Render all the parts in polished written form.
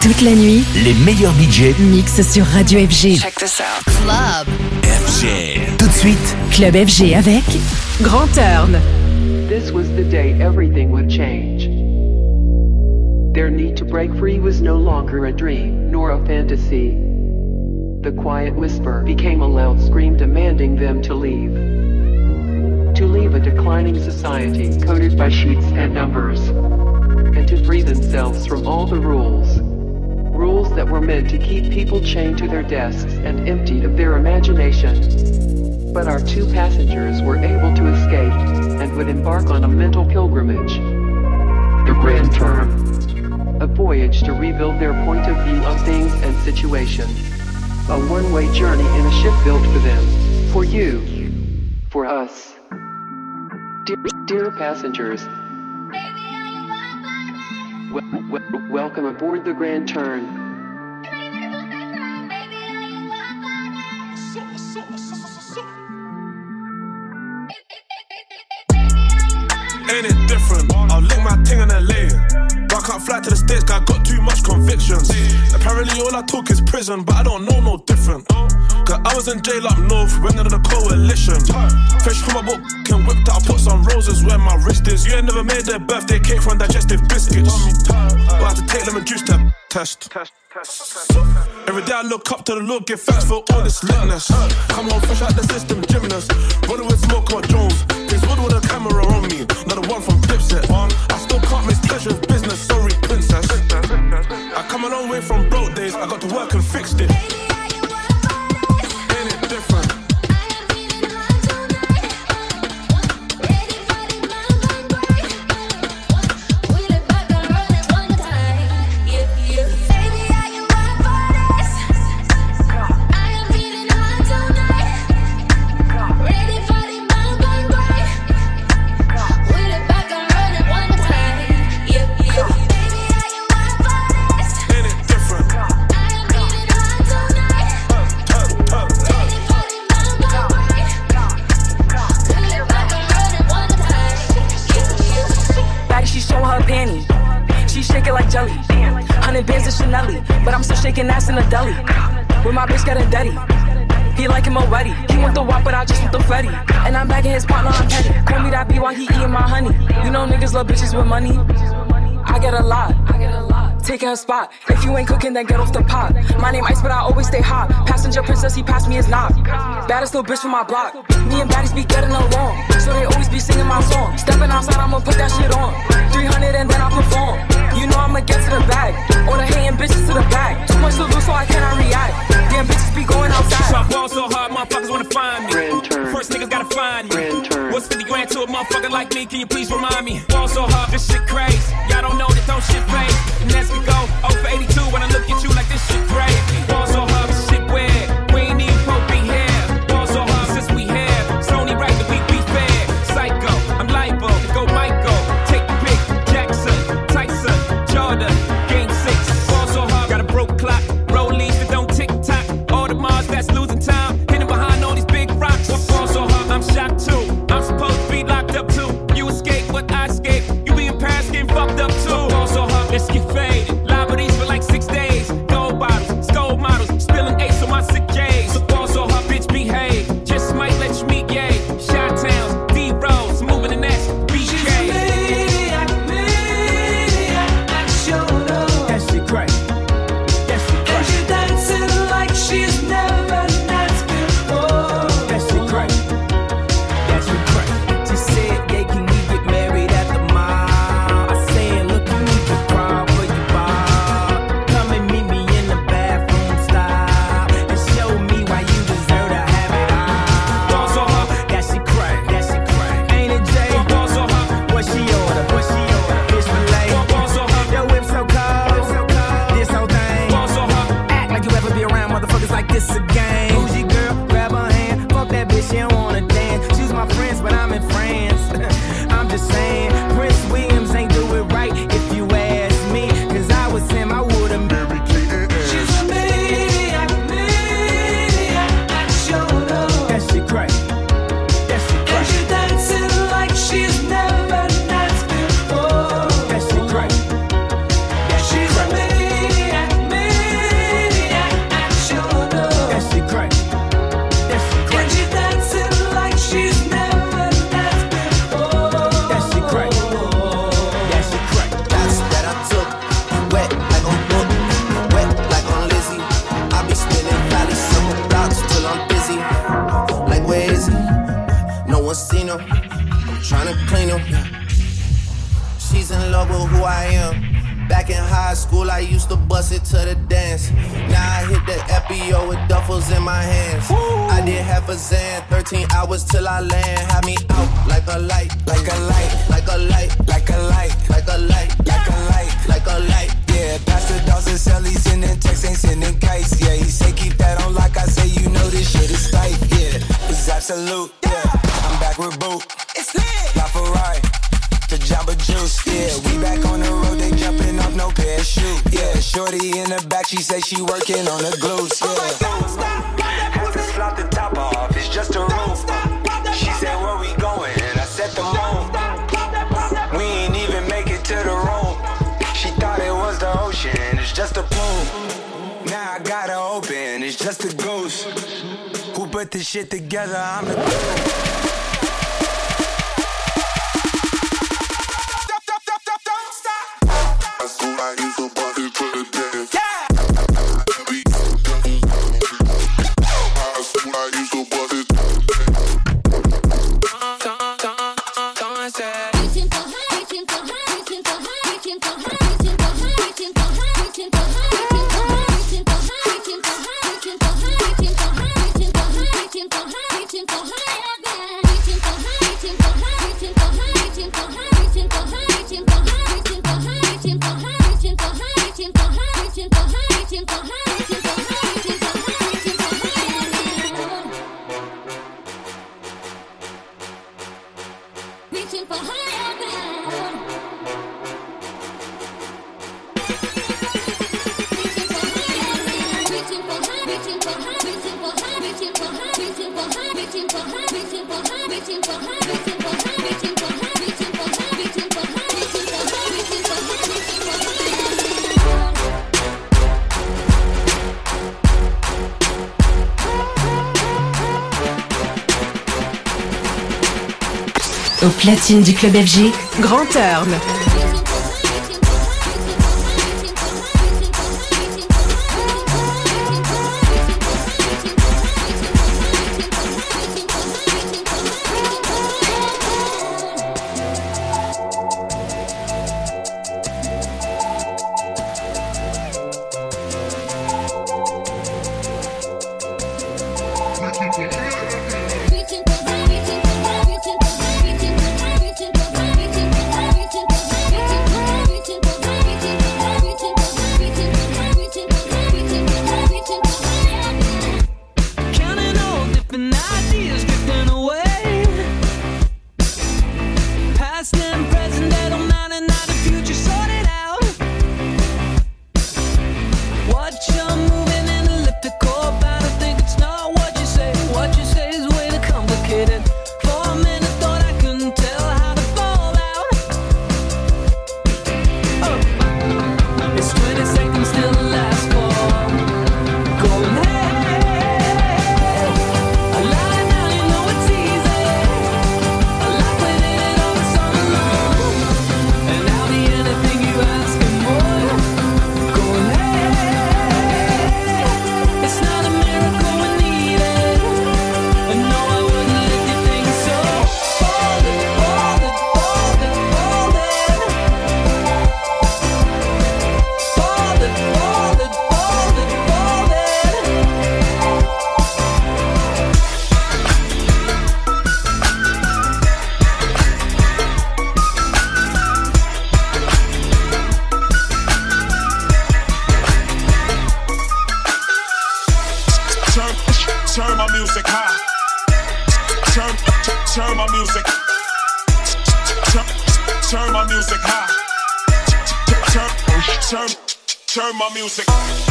Toute la nuit, les meilleurs DJ mixent sur Radio FG. Check this out. Club FG. Tout de suite, Club FG avec Grand Turn. This was the day everything would change. Their need to break free was no longer a dream, nor a fantasy. The quiet whisper became a loud scream demanding them to leave. To leave a declining society coded by sheets and numbers. And to free themselves from all the rules. Rules that were meant to keep people chained to their desks and emptied of their imagination. But our two passengers were able to escape and would embark on a mental pilgrimage. The Grand Turn. A voyage to rebuild their point of view on things and situations. A one-way journey in a ship built for them. For you. For us. Dear passengers. Welcome aboard the Grand Turn. Ain't it different? I'll lick my ting in LA. But I can't fly to the States, cause I got too much convictions. Apparently all I talk is prison, but I don't know no different. Cause I was in jail up north, went under the coalition. Fresh from my book, can whipped out, put some roses where my wrist is. You ain't never made their birthday cake from digestive biscuits. But I had to take lemon juice test. Every day I look up to the Lord, give thanks for all this litness. Come on, fresh out the system, gymnast. Running with smoke or Jones. Prince Wood with a camera on me, not the one from Dipset. I still can't miss pleasure's business, sorry princess. I come a long way from broke days, I got to work and fixed it. Ain't it different? Shaking ass in a deli, with my bitch getting dirty. He like him already. He want the wop, but I just want the Fetty. And I'm back in his partner, I'm petty. Call me that B while he eating my honey. You know niggas love bitches with money. I get a lot. Taking her spot. If you ain't cooking, then get off the pot. My name Ice, but I always stay hot. Passenger princess, he passed me his knock. Baddest little bitch from my block. Me and baddies be getting along, so they always be singing my song. Stepping outside, I'ma put that shit on. 300 and then I perform. You know I'ma get to the bag. All the hating bitches to the bag. Too much to lose, so I cannot react. Damn bitches be going outside. So I ball so hard, motherfuckers wanna find me. First niggas gotta find me. What's 50 grand to a motherfucker like me? Can you please remind me? Ball so hard, this shit crazy. Y'all don't know that don't shit pay. And as we go, 0 for 82 when I look at you like this shit crazy. Ball so hard, this shit weird. We ain't even supposed to be here. Ball so hard since we here. It's only right that we be fair. Psycho, I'm liable to go Michael. Take the pick, Jackson, Tyson, Jordan, game 6. Ball so hard, got a broke clock. Rollies that don't tick tock. All the Mars that's losing time. Hidden behind all these big rocks. Ball so hard, I'm shocked too. I'm supposed to be locked up too. You escape, but I escape. You be in Paris getting fucked up too. Ball so hard, this high school, I used to bust it to the dance. Now I hit the FBO with duffels in my hands. I did half a Zan, 13 hours till I land. Had me out like a light, like a light, like a light, like a light, like a light, like a light, like a light. Yeah, Pastor Dawson sell, he sending texts, ain't sending kites. Yeah, he say keep that on like I say, you know this shit is tight. Yeah, it's absolute. Yeah, I'm back with Boot. It's lit. La Ferrari. The Jamba Juice, yeah. We back on the road, they jumping off no parachute. Yeah, shorty in the back, she say she working on the glutes. Yeah. Have to slot the top off, it's just a roof. She said, where we going? I said the moon. We ain't even make it to the room. She thought it was the ocean, it's just a plume. Now I got her open, it's just a goose. Who put this shit together? I'm the Au platine du club FG, Grand Turn. Turn my music.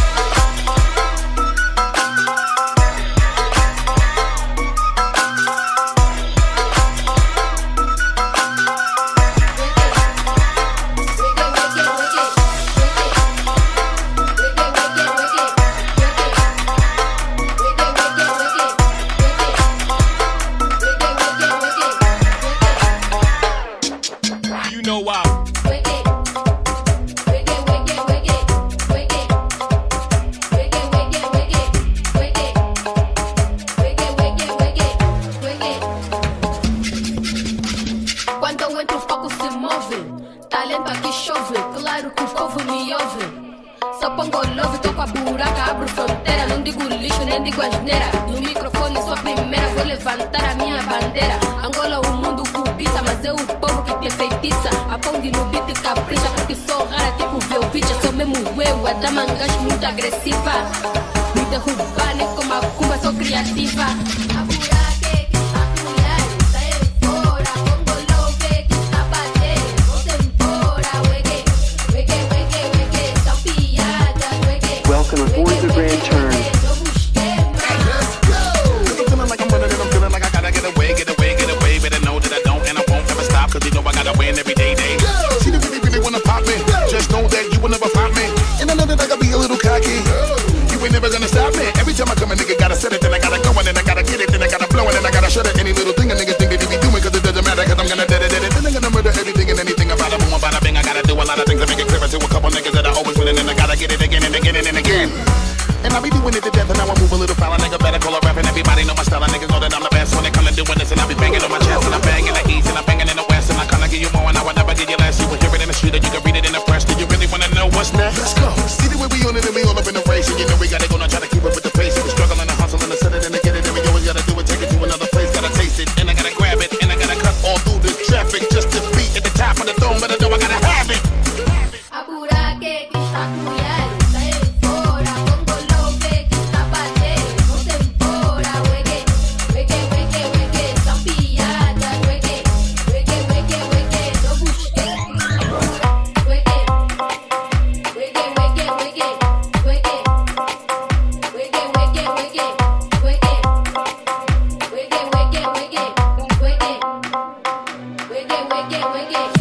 You know why. pongo love, tô com a buraca, abro fronteira. Não digo lixo, nem digo asneira. No microfone sou a primeira, vou levantar a minha bandeira. Angola o mundo cobiça, mas é o povo que te feitiça. A Pong no beat capricha, porque sou rara tipo Velvicha. Sou mesmo eu, a dama gajo muito agressiva. Me derrubar nem como a Kumba, sou criativa. A buraca é que está colher, sai fora. Pongo love que está bater, vou embora. Wege, wege, wege, wege, são piadas. Wege, Welcome aboard the Grand Turn. Cause you know I gotta win every day. See the really wanna pop me. Just know that you will never find me. And I know that I gotta be a little cocky. You ain't never gonna stop me. Every time I come a nigga gotta set it, then I gotta go and then I gotta get it, then I gotta blow it, then I gotta shut it. Any little thing a nigga think that he be doing, cause it doesn't matter, cause I'm gonna dead it. Then I'm gonna murder everything and anything about a boom, about a bang. I gotta do a lot of things to make it clearer to a couple niggas that I always win, and then I gotta get it again and again and again. And I be doing it to death, and now I move a little foul. A nigga better call a rap, and everybody know my style. And niggas know that I'm the best when they come to doing this. And I be banging on my chest, and I'm banging the east, and I'm banging in the west. And I kinda give you more, and I would never give you less. You will hear it in the street, or you can read it in the press. Do you really wanna know what's next? Let's go. See the way we on it, and we all up in the race. And you know we gotta go, now try to keep up with the pace. And we struggle and the hustle, and the set it, and to get it. And we always gotta do it, take it to another place. Gotta taste it, and I gotta grab it, and I gotta cut all through this traffic just to be at the top of the throne. But I know I gotta have it. Apura que está colher, sai fora. Pongo love que está bater, vou embora. Wege, wege, wege, wege, são piadas. Wege, wege, wege, wege, não busquei. Wege, wege, wege, wege, wege, wege, wege, wege, wege, wege, wege, wege, wege, wege.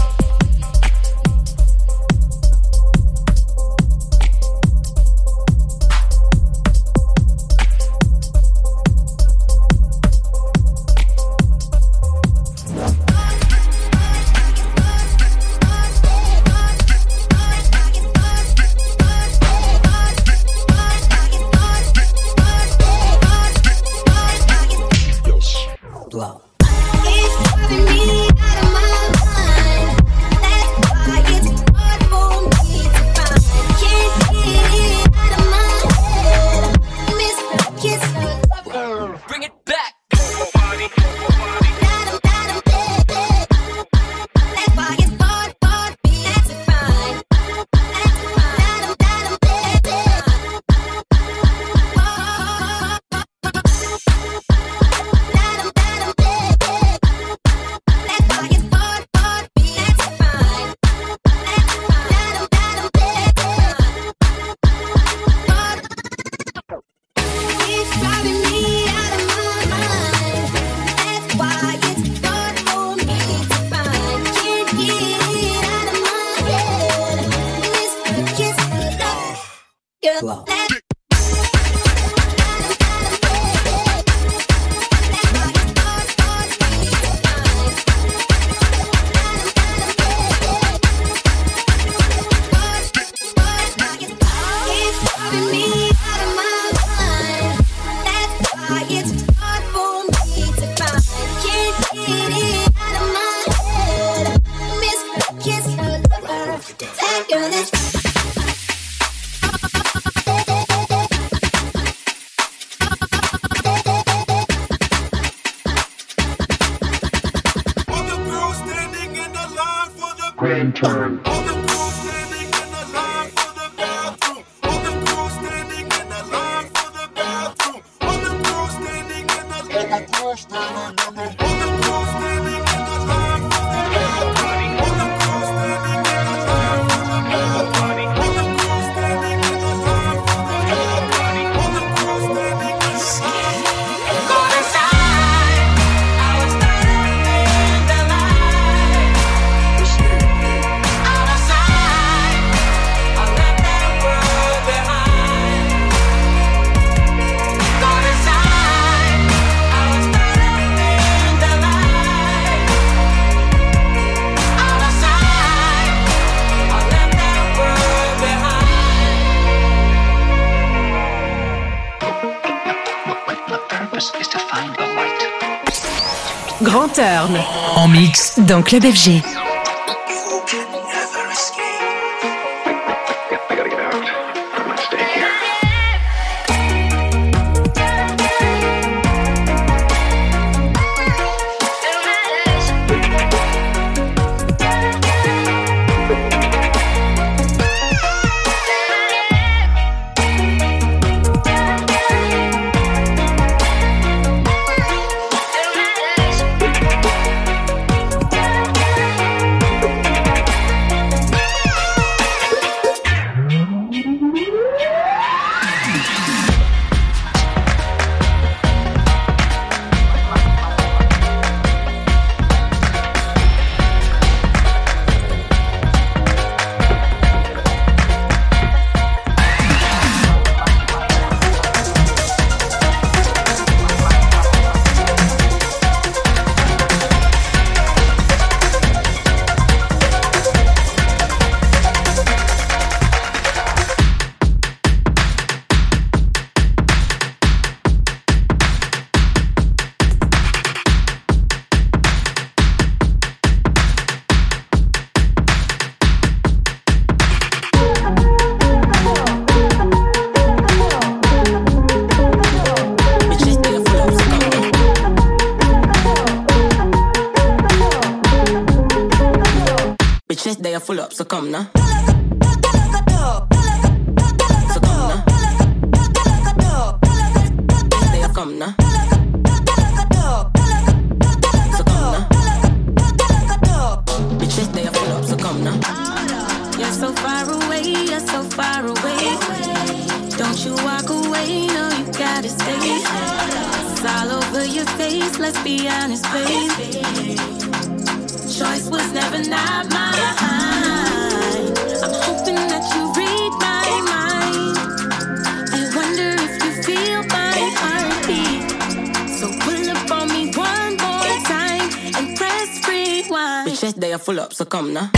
Bring it back. Grand Turn. Grand Turn en mix dans Club FG. I gotta get out. so come now. Come now. So come now. Bitches, they are full up, so come now. You're so far away, you're so far away. Don't you walk away, no, you gotta stay. It's all over your face, let's be honest, babe. Choice was never not mine. I'm hoping that you read my mind. I wonder if you feel my heartbeat. So pull up on me one more time and press rewind. Bitches, they are full up, so come now.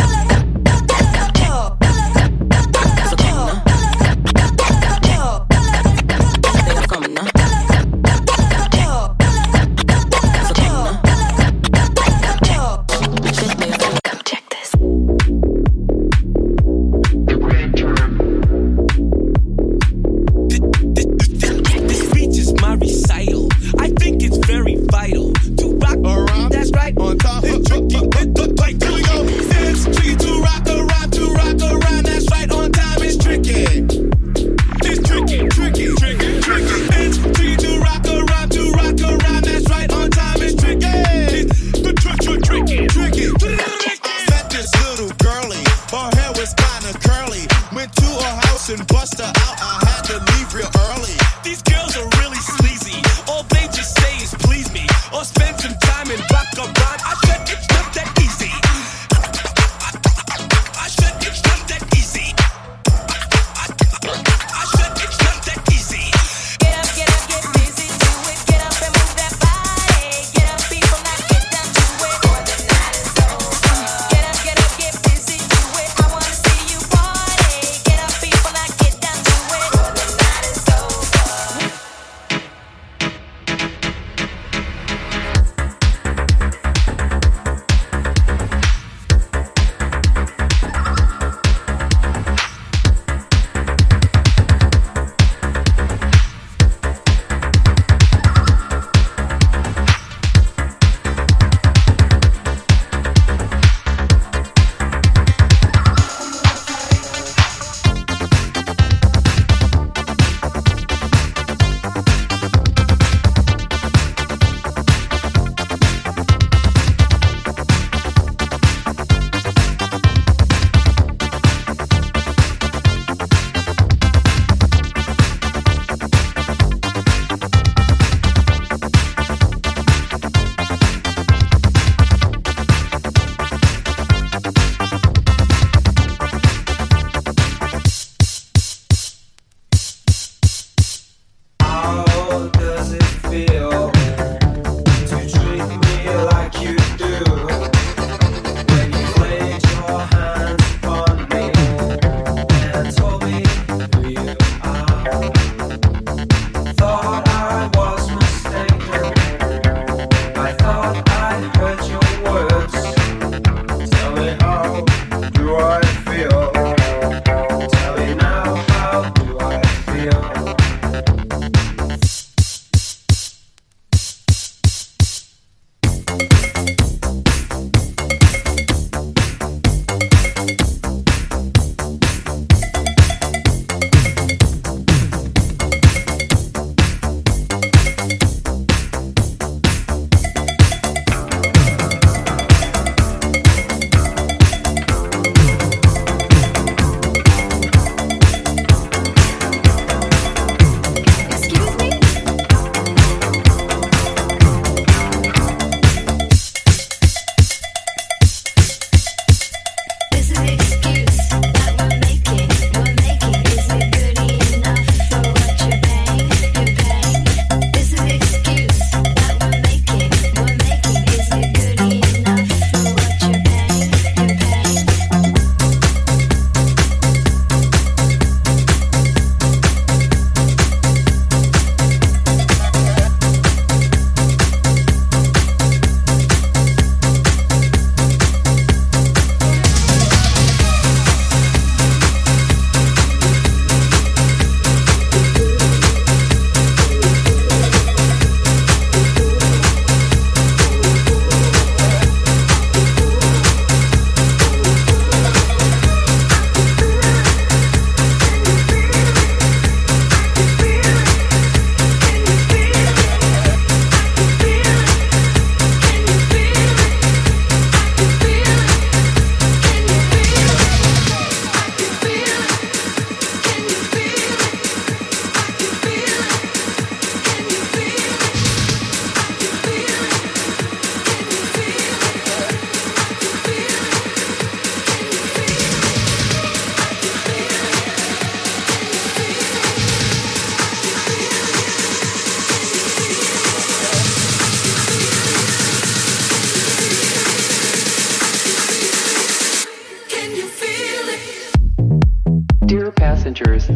passengers.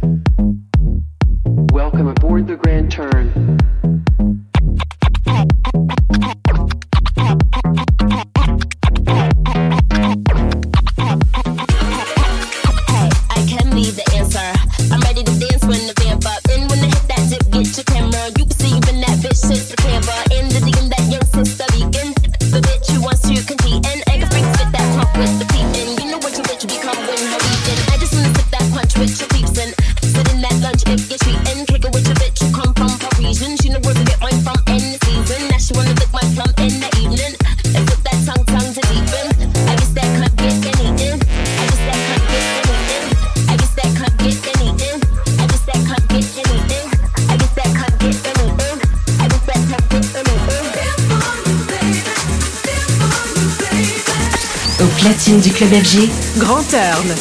Welcome aboard the Grand Turn. I can be the answer. I'm ready to dance when the vamp up. And when I hit that dip, get your camera. You can see even that bitch shit's the camera. In the DM, that young sister vegan. The bitch who wants to compete. And I can freak spit that pump with the peep. And you know what your bitch become when her weekend. I just wanna sip that punch with your peeps. And sit in that lunch if you're treating. Kick it with your bitch who come from Parisian. She know where to get mine from in the season. Now she wanna lick my plum in the evening. And put that tongue to deepen. I guess that cunt get anything. I guess that cunt get anything. I guess that cunt get anything. I guess that cunt get anything. I guess that cunt get anything. I guess that cunt get anything. Au platine du club FG, Grand Turn.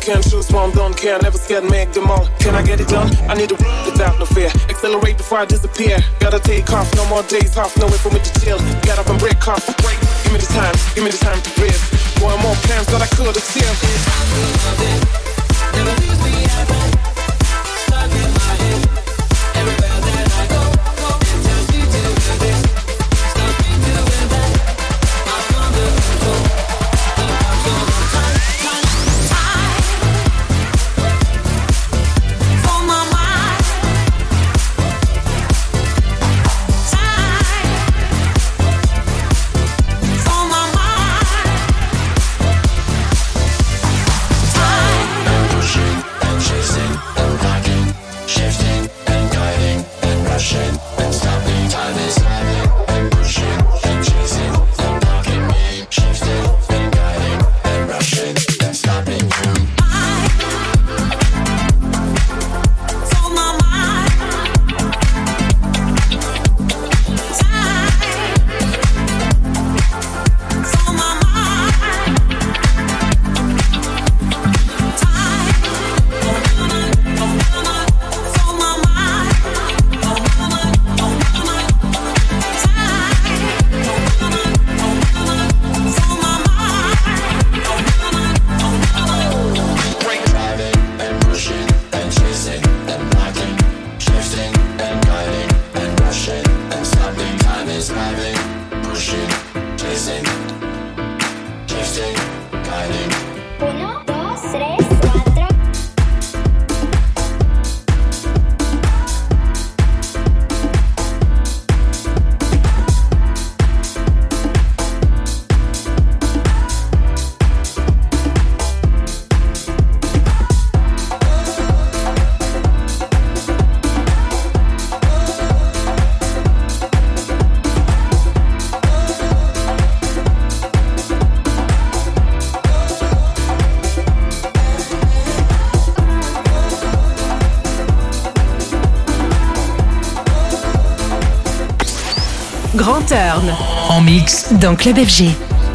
can choose what I'm don't care, never scared, make them all. Can I get it done? I need to without no fear. Accelerate before I disappear. Gotta take off, no more days off, no way for me to chill. Get up and break off, break. Give me the time to breathe. Boy, more plans that I could have still. Never leaves me at home. Stuck in my head. Everywhere that I go, it tells me to do this. Stops me doing that. I'm under control. The clock's on the time. For my mind. Time. For my mind. Time. And pushing and chasing and blocking, shifting and guiding and rushing and stopping. Time is driving and pushing and chasing and blocking me, shifting and guiding and rushing and stopping you. For my mind. Time. For my mind. Time. For my mind. Driving and pushing and chasing and blocking, shifting and guiding and rushing and stopping. Time is driving, pushing, chasing, shifting, guiding. 1, 2, 3, 4. Grand Turn en mix dans Club FG.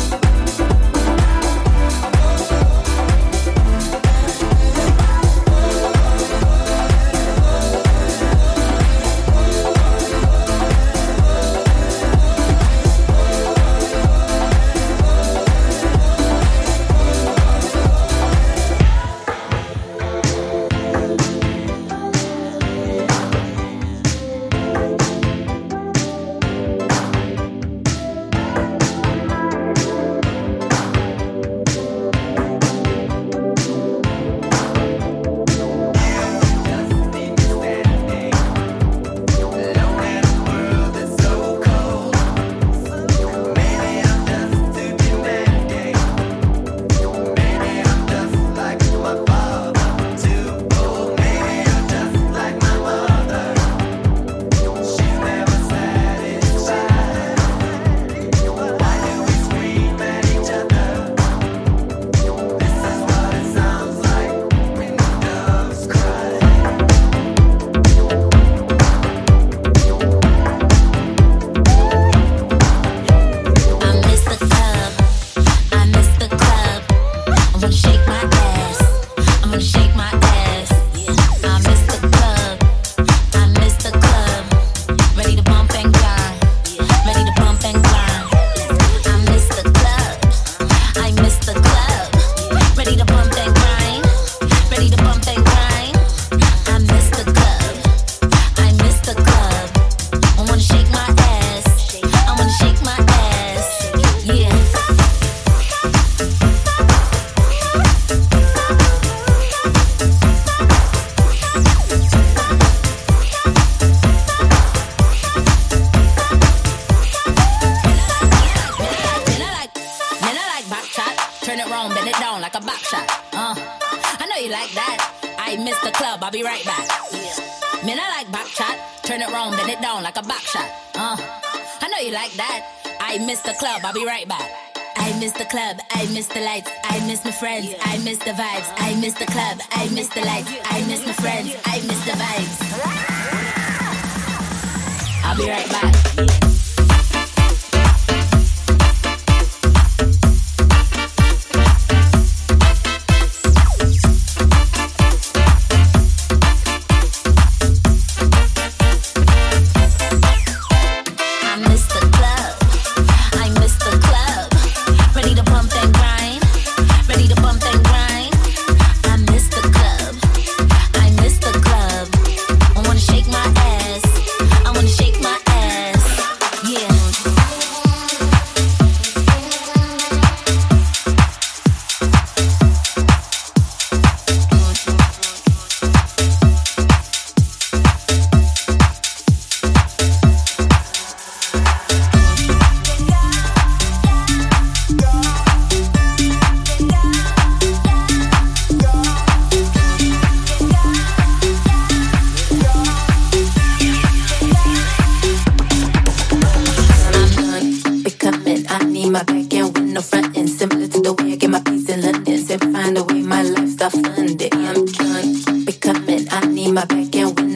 I'll be right back. Man, I like back chat. Turn it round, bend it down like a back shot. I know you like that. I miss the club, I'll be right back. I miss the club, I miss the lights, I miss my friends, I miss the vibes. I miss the club, I miss the lights, I miss my friends, I miss the vibes. I'll be right back.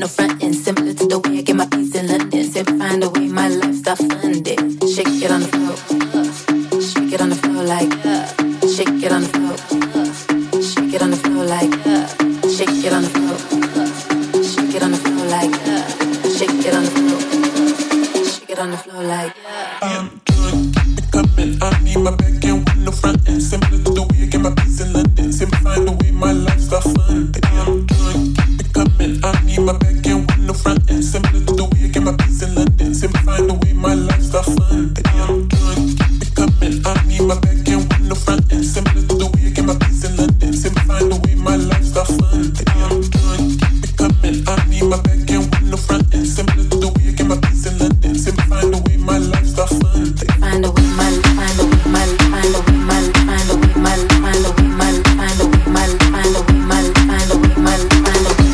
no frontin'. Similar to the way I get my peace in London. Simply find a way my lifestyle funded. Shake it on the floor. Shake it on the floor like shake it on the floor. Shake it on the floor like shake it on the floor. Shake it on the floor like shake it on the floor. Shake it on the floor like I'm drunk, coming. I need my back end with no front end. Similar to the way I get my peace in London. Simply find a way my lifestyle funded. I'm drunk, coming. I need my back end with no front end. Similar to the way I get my peace in London. Simply find a way my lifestyle funded. I'm drunk, coming. I need my back end with no front end. Similar to the way I get my peace in London. Simply find a way my lifestyle funded. I'm drunk, coming. I need my back end with no front end. Similar to the way I get my peace in London. Simply find a way my lifestyle funded. Find a way my, find a way my, find a way my, find a way my, find a way my, find a way my, find a way my, find a way my, find a way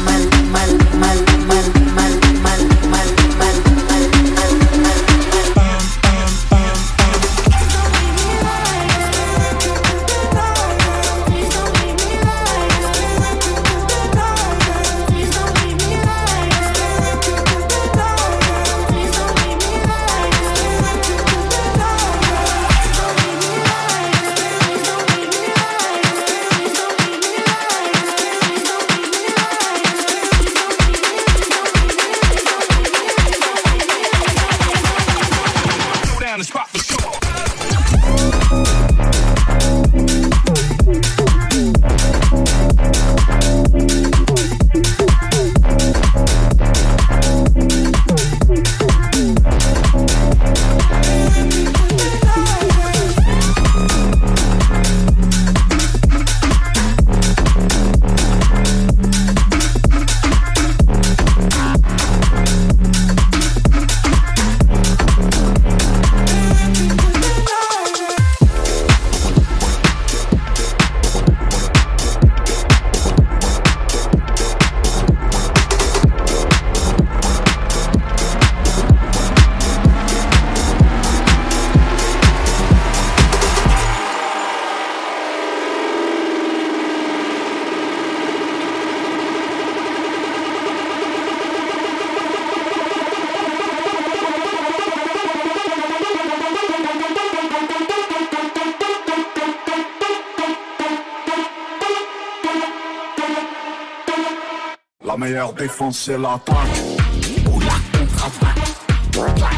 La meilleure défense c'est l'attaque ou la contre-attaque.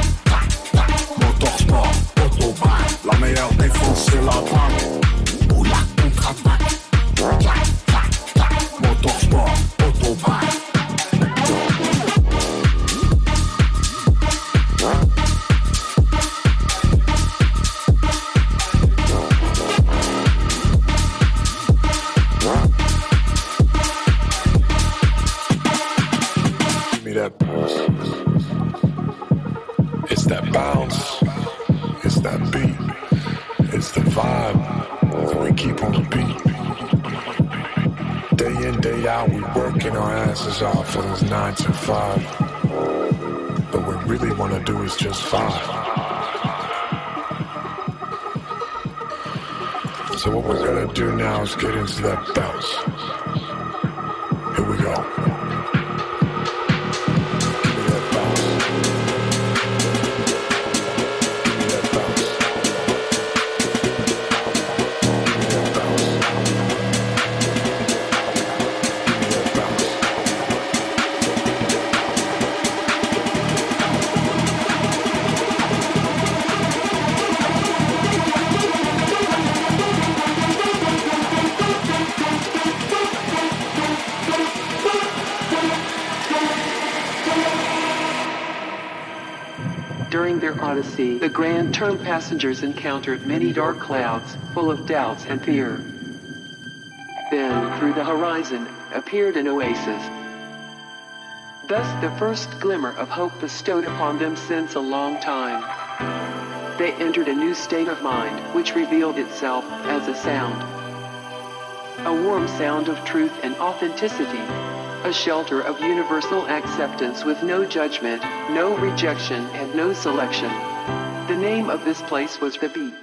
Motorsport, autobahn. La meilleure défense c'est l'attaque ou la contre-attaque. Motorsport, autobahn. That bounce. It's that bounce. It's that beat. It's the vibe that we keep on the beat. Day in, day out, we working our asses off for this 9 to 5. But what we really want to do is just vibe. So what we're gonna do now is get into that bounce. Here we go. During their odyssey, the Grand Turn passengers encountered many dark clouds, full of doubts and fear. Then, through the horizon, appeared an oasis. Thus the first glimmer of hope bestowed upon them since a long time. They entered a new state of mind, which revealed itself as a sound. A warm sound of truth and authenticity. A shelter of universal acceptance with no judgment, no rejection, and no selection. The name of this place was The Beat.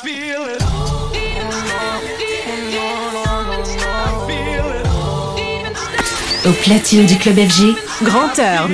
Au platine du Club FG, Grand Turn.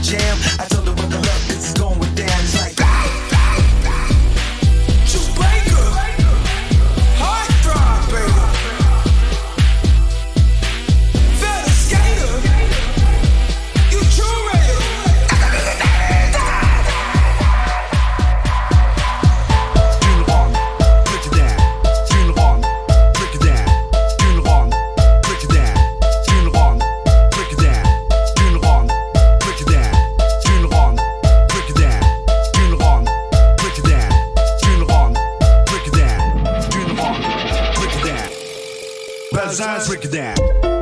jam. I told her buckle up, this is going down. It's like Jamaica, heart throb, baby. Fella skater, you curator. Eyes, break it down.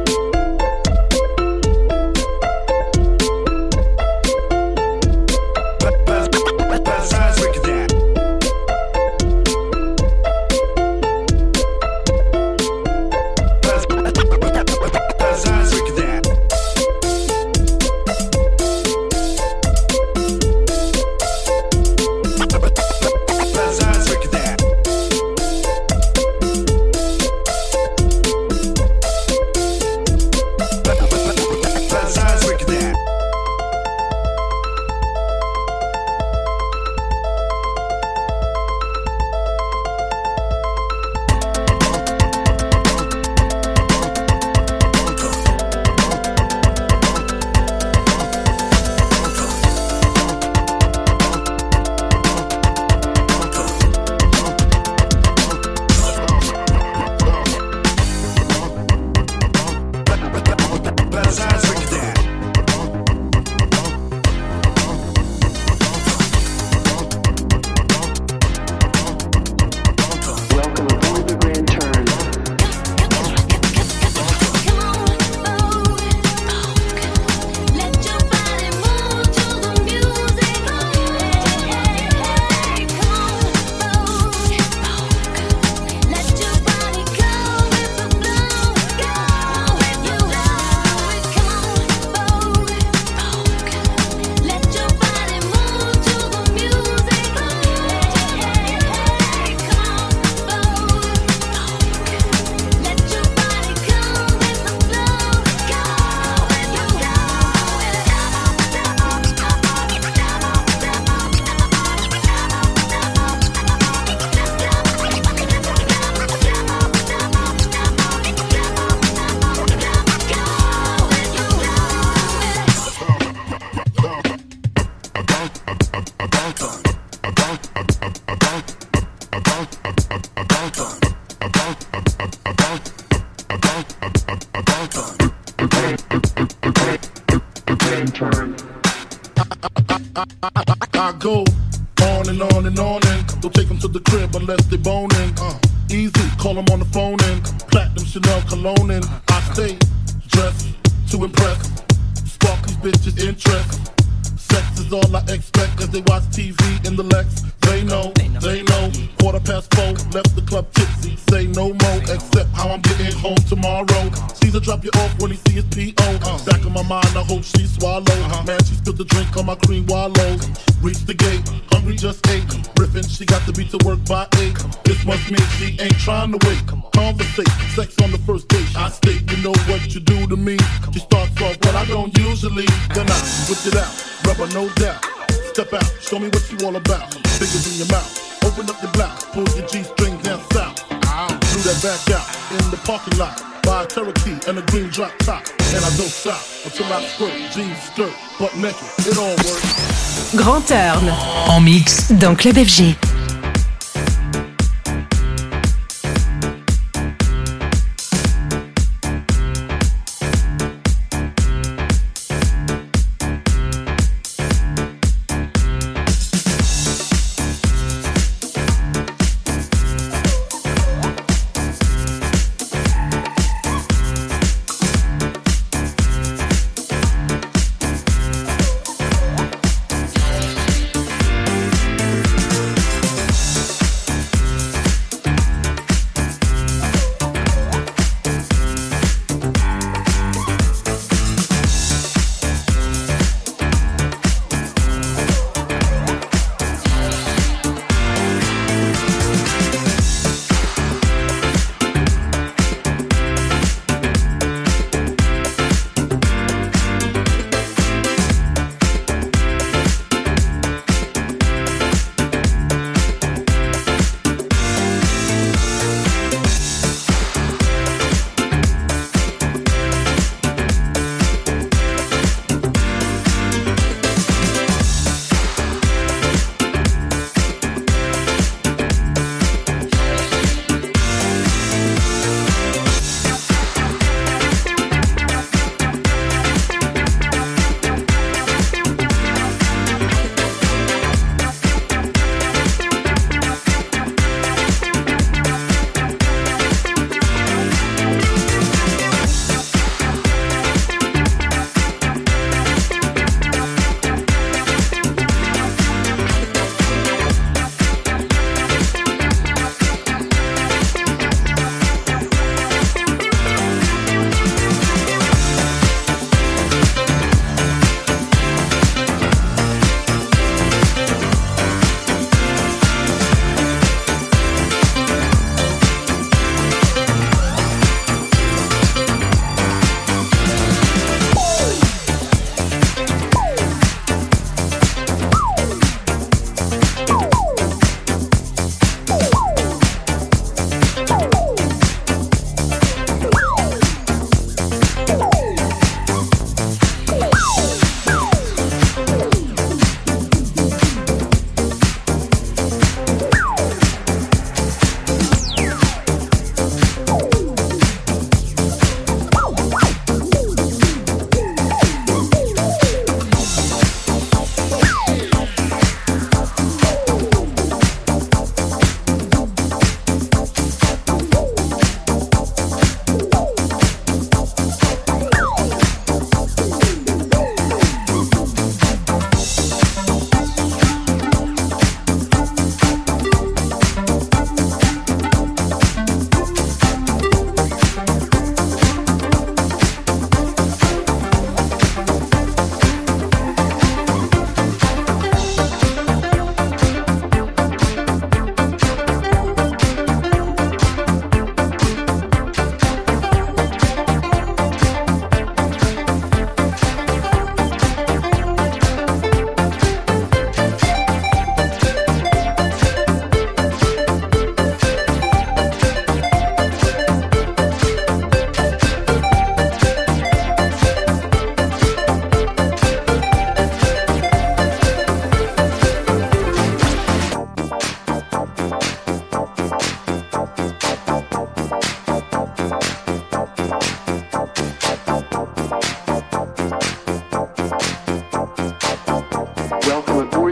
I go on and on and on and don't take them to the crib unless they boning. Easy, call them on the phone and platinum Chanel cologne and I stay dressed to impress, spark these bitches' interest. Sex is all I expect as they watch TV in the Lex. They know. 4:15, left the club tipsy. Say no more, except how I'm getting home tomorrow. Caesar drop you off when he see his P.O. Back in my mind, I hope she swallow. Man, she spilled the drink on my cream wallows. Reached the gate, hungry just ate. Riffin', she got to be to work by 8. This must mean she ain't trying to wait. Conversate, sex on the first date. I state, you know what you do to me. She starts off, but I don't usually. Then I whip it out, rubber no doubt. Step out, show me what you all about. Fingers in your mouth, open up your blouse, pull your G-string down south. Threw that back out in the parking lot. Buy a Cherokee and a green drop top. And I don't stop until I squirt, jeans, skirt, butt naked, it all works. Grand Turn, en mix dans Club FG.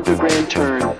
The Grand Turn.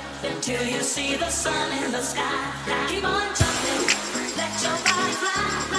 Till you see the sun in the sky. Keep on jumping, let your body fly.